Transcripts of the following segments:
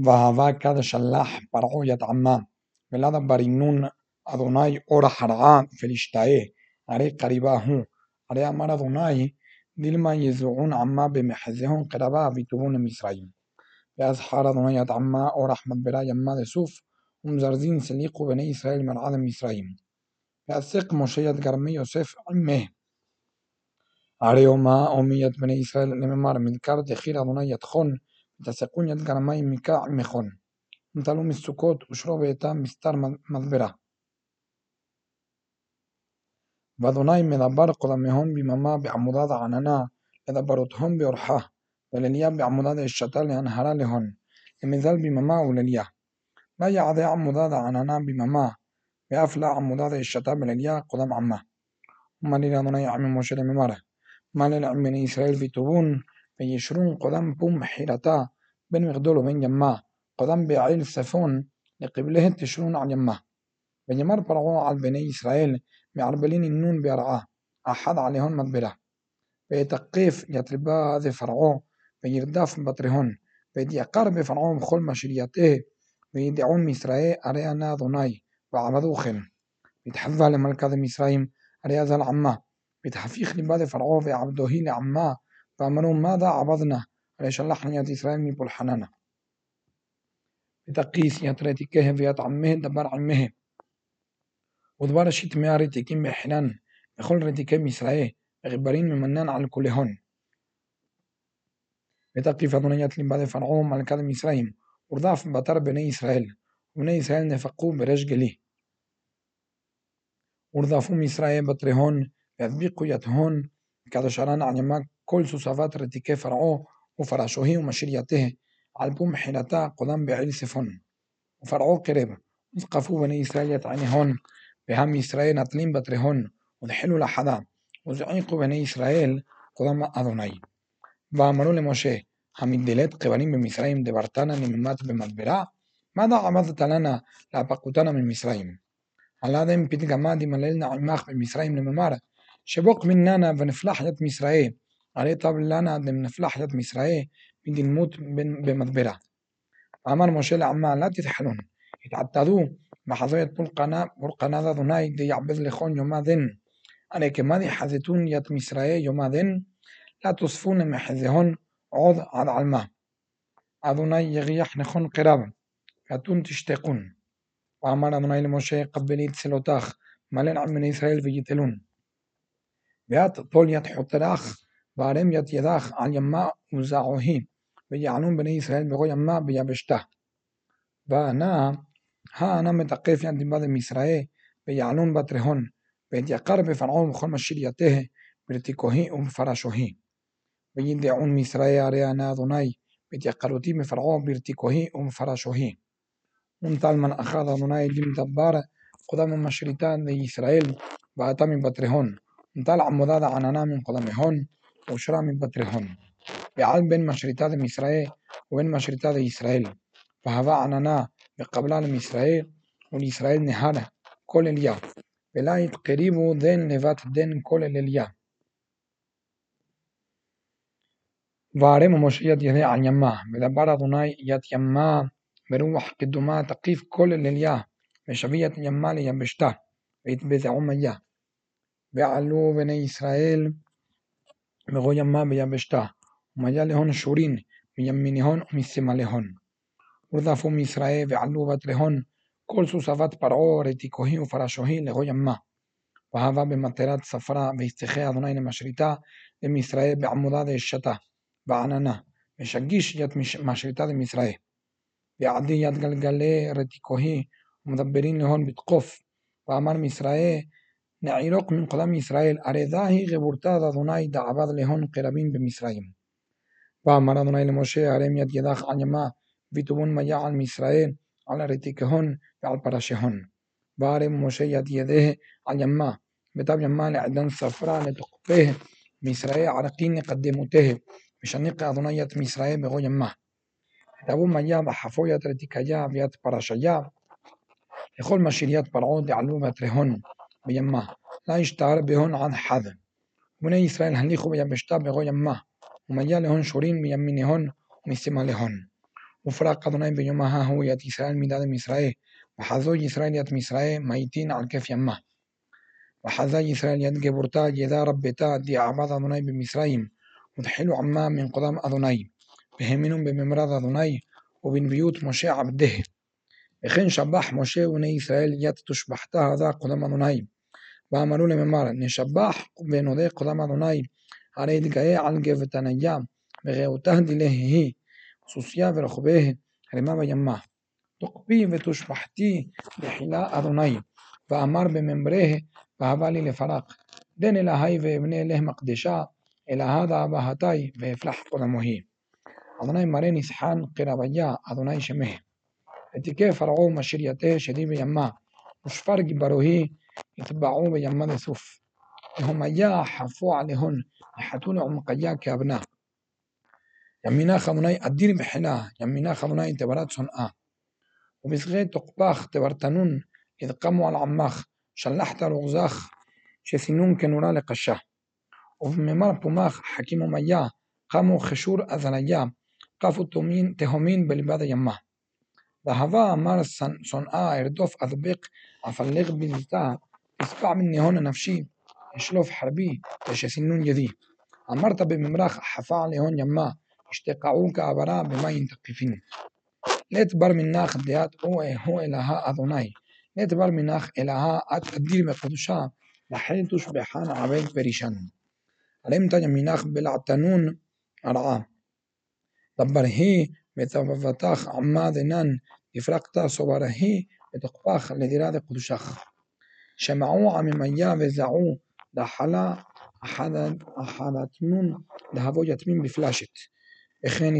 והווה כד שלח פרעה יתעמה ולד ברינון אדוני אור החרעה פלשתאה הרי קריבה הוא הרי אמר אדוני דילמה יזועון עמה במחזיהון קרבה ויטובון למצרים ואז חר אדוני יתעמה אור מדברה ימה לסוף ומזרזין סליחו בני ישראל מרעד מצרים ועסק משה יד גרמי יוסף עמה הרי אומה אומי בני ישראל לממר מנכר דחיר אדוני יתחון ותסקון יד גרמי מקע עמכון נטלו מסוכות ושרו ביתם מסתר מדברה ואדוני מדבר קודמיהון ביממה בעמודת העננה לדברותהון באורחה ולליה בעמודת אשתה להנהרה להון למזל ביממה ולליה לא יעדה עמודת העננה ביממה ואף לה עמודת אשתה בלליה קודם עמה ומלי לאדוני עמי משה לממר מלי לעם בני ישראל ויטובון וישרון קודם פום חירתה בין מגדול ובין ימה קודם בעיל צפון לקבלה תשרון על ימה ונאמר פרעה על בני ישראל מערבלין נון בהרעה אחד עליהון מדברה ויתקף יתרבה זה פרעה וירדף בטרהון ויתיקר בפרעה בכל משרייתה וידעון מישראל הרי אנה אדוני ועבדוכם ויתחווה למלכת מצרים הרי אזל עמה ויתהפיך ליבה לפרעה ועבדוהי לעמה ואמרו מדה עבדנה הרי שלחני את ישראל מפולחננה ותקיס יתרתיקה ויתעמה דבר עמהם ודבר שתמיה רתיקים בחינן וכל רתיקי מישראל וחיברין ממנן על כולהון ותקיף אדוני את ליבה לפרעה מלכת מצרים ורדף בתר בני ישראל ובני ישראל נפקו בריש גלי ורדפו מישראל בטרהון והדביקו יתהון כדשרן על ימה כל סוסבת רתיקי פרעה ופרשוהי ומשרייתה על פום חילתה קודם בעיל צפון ופרעה קרב וזקפו בני ישראל יתעניהון והם ישראל נטלים בטרהון ודחלו לחדה וזעיקו בני ישראל קודם אדוני ואמרו למשה המדלת קבלים במצרים דברתנה נממת במדברה מדה עבדת לנה להפקותנה ממצרים הלאדם פתגמה דמללנה עמך במצרים לממר שבוק מננה ונפלח ית מצרים הרי טב לנה דמנפלח ית מצרים מדלמות במדברה ואמר משה לעמה לא תתחלון התעתדו מחזוית פולקנה אדוני דיעבד לכון יומה דן הרי כמדי חזתון ית מצרים יומה דן לא תוספון למחזיהון עוד עד עלמה אדוני יגיח נכון קרב ואתון תשתקון ואמר אדוני למשה קבלי תצלותך מלן עם בני ישראל ויתלון ואת תול ית חותרך וערם ית ידך על ימה וזעוהי ויענון בני ישראל בכל ימה ביבשתה ואנה מתקף יד דיבה מישראל ויענון בטרהון ויתיקר בפרעה בכל משרייתה ברתיקוהי ובפרשוהי וידעון מישראל הרי אנה אדוני ויתיקרותי מפרעה ברתיקוהי ובפרשוהי ונטל מן אחד אדוני למדבר קודם משריתה לישראל ואתה מבטרהון נטל עמודת העננה מן קודמיהון ואושרה מבטרהון ועל בין משריתה למישראל ובין משריתה לישראל והווה עננה וקבלה למישראל ולישראל נהר כל אליה ולא יתקריבו דן לבת דן כל אליה וערם משה יד ידי על ימה ודבר אדוני יד ימה ברוח קדומה תקיף כל אליה ושבי את ימה ליבשתה ויתבזעו מיה ועלו בני ישראל בכל ימה ביבשתה ומיה להון שורין מימינהון ומשמאלהון ורדפו מישראל ועלו בטרהון כל סוסבת פרעה רתיקוהי ופרשוהי לכל ימה והווה במטרת ספרה ויצטחה אדוני למשריתה למישראל בעמודת אשתה ועננה ושגיש ית משריתה למישראל ועדי יד גלגלי רתיקוהי ומדברין להון בתקוף ואמר מישראל נעירוק מן קודם ישראל הרי זהי גבורתה אדוני דעבד להון קרבים במצרים ואמר אדוני למשה הרם יד ידך על ימה ויטובון מיה על מישראל על רתיקהון ועל פרשהון והרם משה יד ידה על ימה ותב ימה לעדן ספרה לתוקפה מישראל ערקין לקדמותה ושנק אדוני ית מישראל בכל ימה ותבוא מיה בחפו ית רתיקיה וית פרשיה לכל משריית פרעה דעלו בטרהון בימה לא ישתער בהון עד חד ובני ישראל הליכו ביבשתה בכל ימה ומיה להון שורים מימינהון ומשמאלהון ופרק אדוני ביום ההוא את ישראל מדד מישראל, וחזו ישראל את מישראל מאיתין על כף ימה. וחזה ישראל יד גבורתה ידע רבתה דיעבד אדוני במצרים, ותחילו עמה מן קדם אדוני, והאמינו בממרד אדוני ובנביות משה עבדה. וכן שבח משה ובני ישראל יד תושבחתה הזה קדם אדוני, ואמרו לממר נשבח ונודה קדם אדוני, הרי התגאה על גבתניה, ורעותה דלהי, סוסיה ורחובה רמה וימה. תוקפי ותושבחתי בחילה אדוני, ואמר בממרה והבא לי לפרק. דן אלוהי ואבנה אלה מקדשה, אלוהה דאבהתי והפלח קודמוהי. אדוני מראה נסחן קרביה, אדוני שמיה. ותיקה פרעו משרייתה שדי בימה, ושפר גיברוהי יתבעו בימה לסוף. והומיה חפו עליהון, יחתו לעומקיה כאבנה. ימינך אדוני אדיר בחילה, ימינך אדוני תברת שונאה. ובזכי תוקפך תברתנון, ידקמו על עמך, שלחת רוגזך, שסינון כנורה לקשה. ובממר פומך חכים ומיה, קמו חשור אזניה, קפו תהומין בלבד הימה. והווה אמר שונאה ארדוף אדבק, אפלג בלתה, אספע מניהון הנפשי, אשלוף חרבי, ושסינון ידי. אמרת בממרח חפה להון ימה, השתקעו כעברה במים תקיפין. לית בר מנך דעת הוא אלוהה אדוני, לית בר מנך אלוהה את אדיר בקדושה, לחל תושבחן עבד פרישן. עלמת ימינך בלעתנון הרעה, דברהי ותבבתך עמה דנן, יפרקת סוברהי ותקפך לדירת קדושך. שמעו עממיה וזעו, דחלה אחדתנון דהבו יתמים בפלשת. וכן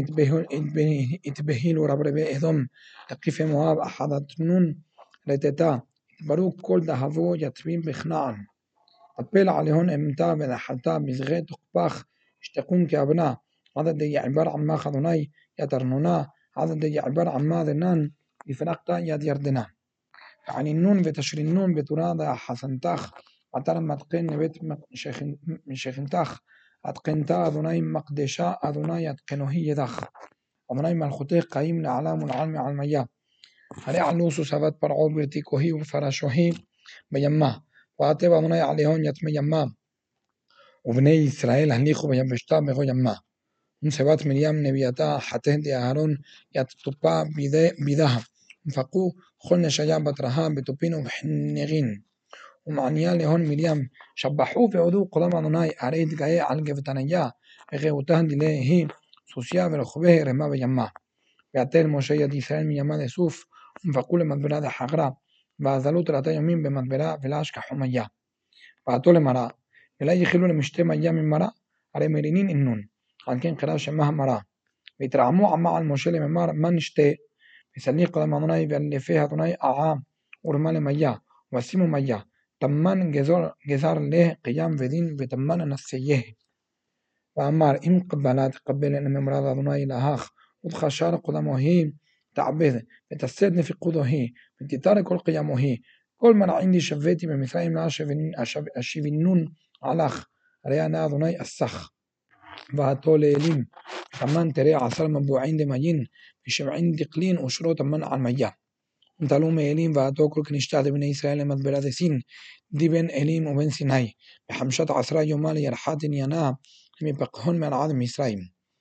התבהילו רברבי אדום, תקיפי מואב אחדתנון רטטה, התברו כל דהבו יתמים בכנען. תפל עליהון אמתה ונחלתה בזכי תוקפך, השתקון כאבנה, עד דיעבר עמך אדוני יתרנונה, עד דיעבר עמה דנן, יפרקת יד ירדנה. וענינון ותשרינון בתורה דחסנתך, עתר מתקן לבית משכנתך, התקנתה אדוני מקדשה אדוני התקנוהי ידך. אדוני מלכותך קיים לעלם ולעלמי עלמיה. הרי עלו סוסבת פרעו ברתיקוהי ופרשוהי בימה, ועטב אדוני עליהון יתמי ימה. ובני ישראל הליכו ביבשתה בכל ימה. ונשבת מרים נביאתה חתה דאהרון יתטופה בידה. ופקו כל נשיה בתרها בטופין ובחנרין. ומעניה להון מרים, שבחו ועודו קדם אדוני, הרי התגאה על גבתניה, ורעותה דלהי, סוסיה ורחובה רמה וימה. ויתל משה יד ישראל מימה לסוף, ופקו למדברה דחגרה, ואזלו תלתה ימים במדברה ולהשכח חומיה. ועתו למראה, ולא יחילו למשתה מיה ממראה, הרי מרינין אינון, על כן קרא שמה המראה. והתרעמו עמה על משה לממר, מה נשתה? וסליח קדם אדוני ואלפי אדוני עעה, ורמה למיה, ושימו מיה. תמן גזר לה קיים ודין ותמן נסייה. ואמר אם קבלה תקבל לממרד אדוני אלהך ותחשר קדמוהי תעבד ותסד נפקודוהי ותתר כל קיימוהי כל מנעין דשבתי במצרים להשיבינון עלך הרי אנא אדוני אסך. ועתו לאלים תמן תראה 10 מבועין דמיין ושבעין דקלין ושרו תמן על מיה. ונטלו מאלים ועתו כל כנשתה דבני ישראל למדברה דסין די בין אלים ובין סיני 15 יומה לירחת עניינה מפקהון מעד מצרים.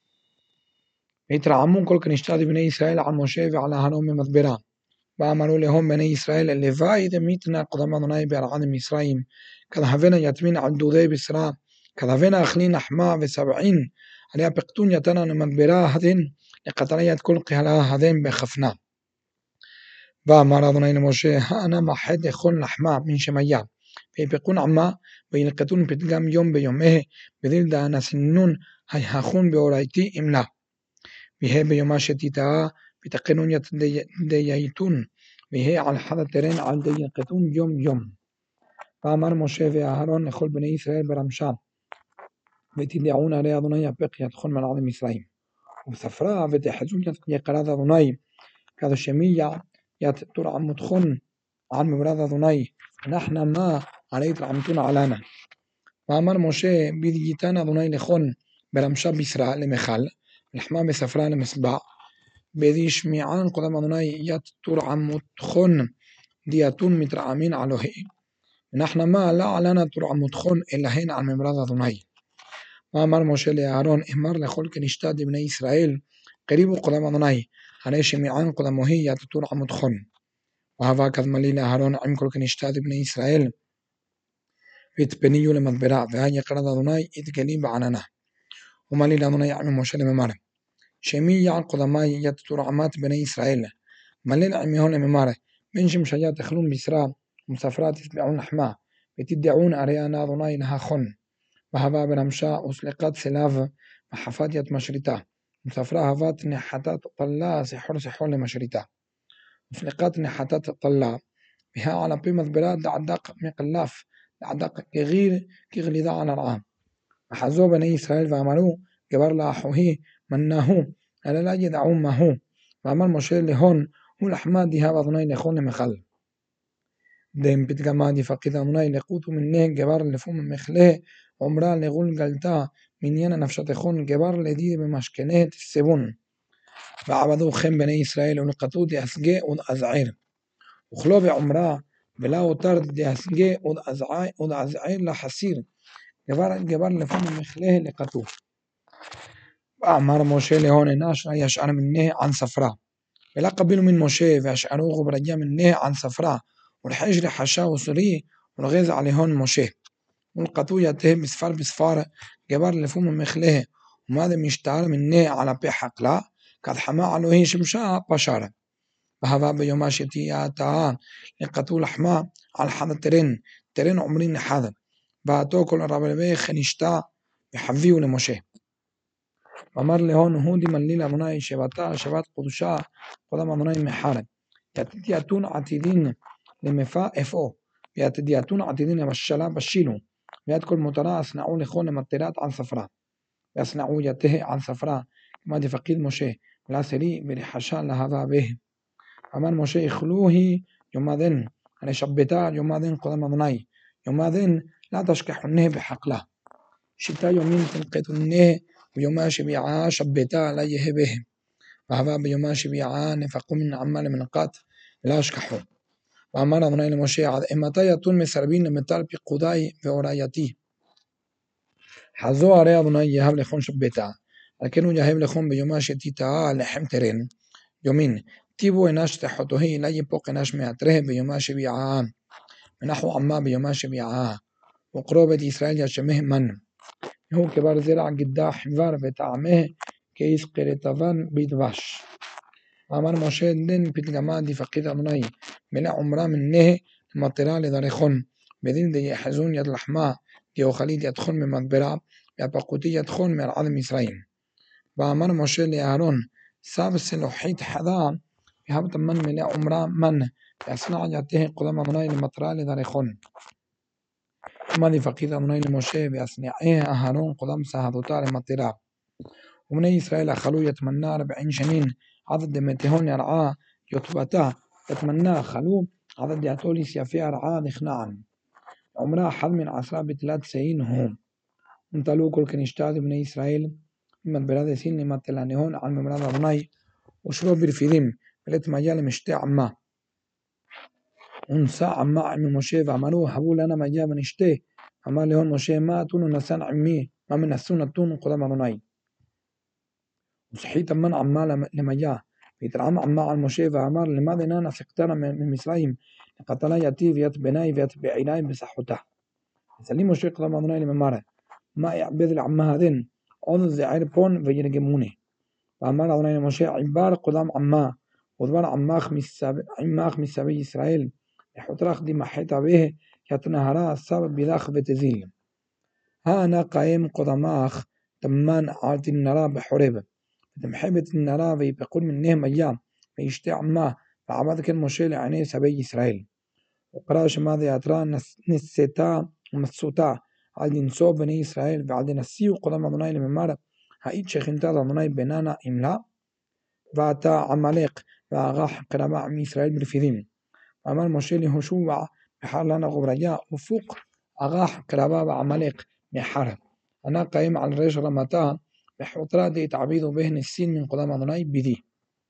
והתרעמו כל כנשתה דבני ישראל על משה ועל אהרון במדברה. ואמרו להם בני ישראל לוואי דמיתנה קדם אדוני בעד מצרים כדהבנה יתמין על דודי בשרה כדהבנה אכלין לחמה וסבעין עליה פקטון יתנה למדברה הדין לקטלה יד כל קהלה הדין בחפנה. ואמר אדוני למשה האנה מחד אכול לחמה מן שמיה ויפקון עמה וילקטון פתגם יום ביומיה בדיל דאנה סינון היחון באורייתי אמלה ויהי ביומה שתיתאה ותקנון דייתון ויהי על חד התרן על דילקטון יום יום. ואמר משה ואהרון לכל בני ישראל ברמשה ותדעון הרי אדוני יפק ידכון מלעד מצרים ובספרה ותחזון יקרת אדוני כדו שמיה ית תרעמותכון על ממרד אדוני ונחנה מה הרי התרעמתון עלנה. ואמר משה בדייתן אדוני לכון ברמשה בשרה למחל ולחמה בספרה למסבע בדשמיען קודם אדוני ית תורעמותכון דיאתון מתרעמין אלוהי ונحن ما لا لنا ترعمותכון אלהן על ממרד אדוני. ואמר משה לאהרון אמר לכל כנשתת בני ישראל קריבו קודם אדוני הרי שמיען קודמוהי ית תורעמותכון. והווה כדמלי לאהרון עם כל כנשתת בני ישראל והתפניו למדברה והיה קרד אדוני התגלי בעננה. ומלי לאדוני עם משה לממר שמי יען קודמי ית תורעמת בני ישראל מלל עמיהון לממר בין שמשיה תאכלון בשרה ומספרה תשבעון לחמה ותדעון הרי אנא אדוני נהכון. והווה ברמשה וסלקת סלב וחפת ית משריתה ומספרה הבת נחתת טלה סחור למשריתה וסלקת נחתת טלה וها על פי מדברה דעדק מקלף דעדק כגיר כגלידה על הרעה. וחזו בני ישראל ואמרו גבר לאחוהי מנהו אלא לא ידעו מהו. ואמר משה להון הוא לחמה דיהב אדוני לכון למחל. דם פתגמה דפקיד אדוני לקות ומנה גבר לפום מחלה עומרה לגול גלתה מניין נפשתכון גבר לדי במשכנה תסבון. ועבדו חם בני ישראל ולקטו דאסגה ודאזעיר וכלו בעומרה ולא הותר דאסגה ודאזעיר לחסיר גבר לפום מחלה לקטו. ואמר משה להון אנש ישער מנה ען ספרה ולא קבלו מן משה והשערוך ברג'ה מנה ען ספרה والحجر حشا وسري والغيظ عليهن مشه والقطو يته بسفار جبر لفوم مخله وماذا مشتعر منه على بحق لا قد حما عليه شمشاء بشارة. وهذا بيوم شتياتا لقطو لحما على حد ترين عمرين حذا بعتو كل ربي خنشتا يحفيه لمشه. ومر لهون هودي من ليلة مناي شباتا شبات قدشا قدام مناي محارب يتياتون عتيدين למפה אפוא, ויתדיעתון עתידין למשלה בשילו, ויד כל מותרה אסנעו לכון למטרת ען ספרה, ואסנעו יתה ען ספרה, כמה דפקיד משה, ולעשרי ולחשה להבה בה. אמר משה אכלוהי יומדן, הרי שבתה יומדן קודם אדוני, יומדן לא תשכחונה בחקלה, שיטה יומין תלקטונה, ויומה שביעה שבתה לא יהא בה, והווה ביומה שביעה נפקו מן עמה למנקת, ולא אשכחו. ואמר אדוני למשה עד אימתי יתון מסרבין למטל פיקודי ואורייתי. חזו הרי אדוני יהב לכון שבתה, על כן הוא יהב לכון ביומה שתיטעה לחם תרן, יומין, טיבו אנש תחותוהי לא יפוק אנש מעטרה ביומה שביעה, ונחו עמה ביומה שביעה, וקרוא בית ישראל ישמه מן, והוא כבר זרע גדה חבר וטעמה כיסקרתבן בדבש. ואמר משה דין פתגמה דפקיד אדוני מלא עומרה מנה למטרה לדרכון בדין דיחזון יד לחמה דיאוכלית ידכון ממדברה והפקותי ידכון מארעד מצרים. ואמר משה לאהרון סב סלוחית חדה והבת מן מלא עומרה מן ואסנע יתה קודם אדוני למטרה לדרכון. ומה דפקיד אדוני למשה ואסנעי אהרון קודם סהדותה למטרה. ובני ישראל אכלו יתמנה 40 שנים عدد دمتهون يرعاه يطبتا يتمنى خلو عدد يعطوليس يفيا رعاه نخنعا عمرها حد من عصرها بثلاث سنين هم انطلوا كل كنشتاد بني إسرائيل من بلاد سين لما تلانيهون عن ممراد أبناي وشروا برفيدهم بلت مجال مشتاع عما ونساع عما عمي مشي وعملوه حبوا لنا مجال منشتي عما لهون مشي ما تونو نسان عمي ما من السنة تونو قدام أبناي وصحيت من عما لما جاء يترعم عما على مشي وعمر لماذا نانا سكتنا من مصريم قتلا يتي ويت بناي ويت بعيناي بصحته سليم مشي قدام أدوني لممارة ما يعبد العما هذين عضو زعير بون ويرجموني وعمر أدوني مشي عبار قدام عما ودبر عماخ من سبي إسرائيل يحطرخ دي محيطة به يتنهرا السبب بلاخ بتزيل ها أنا قائم قداماخ تمان عالتي النرا بحرب محبة النرا ويبقون منهم أيام ويشتع عما فعبد كان مشي لعيني سبي إسرائيل وقراش ماذا يترى نسيتا ومسوتا على نصوب بني إسرائيل وعلى نسيو قدام أدوني لممارة هايت شخنتا أدوني بنانا إملا وعتا عماليق وعغاح قرابة عم إسرائيل برفيدين وعمال مشي لهشوع بحار لنا غبرياء وفوق أغاح قرابة عماليق محارب أنا قايم على الرجل رمتا بحوطرا دي تعبيدو بهن السين من قدام أدوني بدي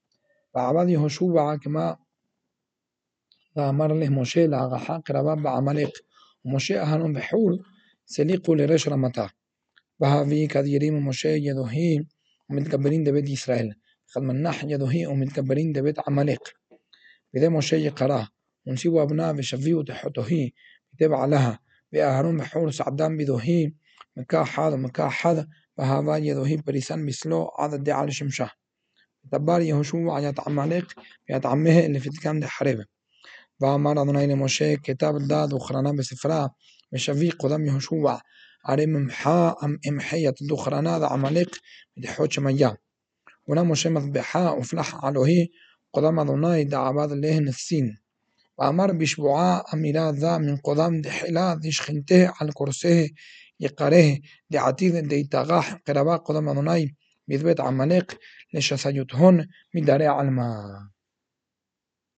ועבד יהושע כמה ואמר למשה להגחה קרבה בעמלק ומשה אהרון וחור סליqu לרש רמתה והביא כדירים ומשה ידוהי ומתגברים דבית ישראל חלמנח ידוהי ומתגברים דבית עמלק וזה משה יקרא ונסיבו אבנה ושביעו תחתוהי ותבע לها ואהרון וחור סעדם בדוהי מקה אחד ומקה אחד והבה ידוהי פריסן בסלו עד הדעה לשמשה דבר יהושע ית עמלק וית עמه اللي في الكام دحرب ואמר אדוני למשה כתב דעת וכרנה בספרה ושבי קודם יהושע הרי אמחה יתדוכרנה לעמלק מתחות שמיה ונה משה מזבחה ופלח אלוהי קודם אדוני דעבד להן הסין ואמר בשבועה אמירה זה מן קודם דחילה דשכנתה על קורסה יקרה דעתיד דיתגח קרבה קודם אדוני בבית עמלק לשסיות הון מדרי עלמה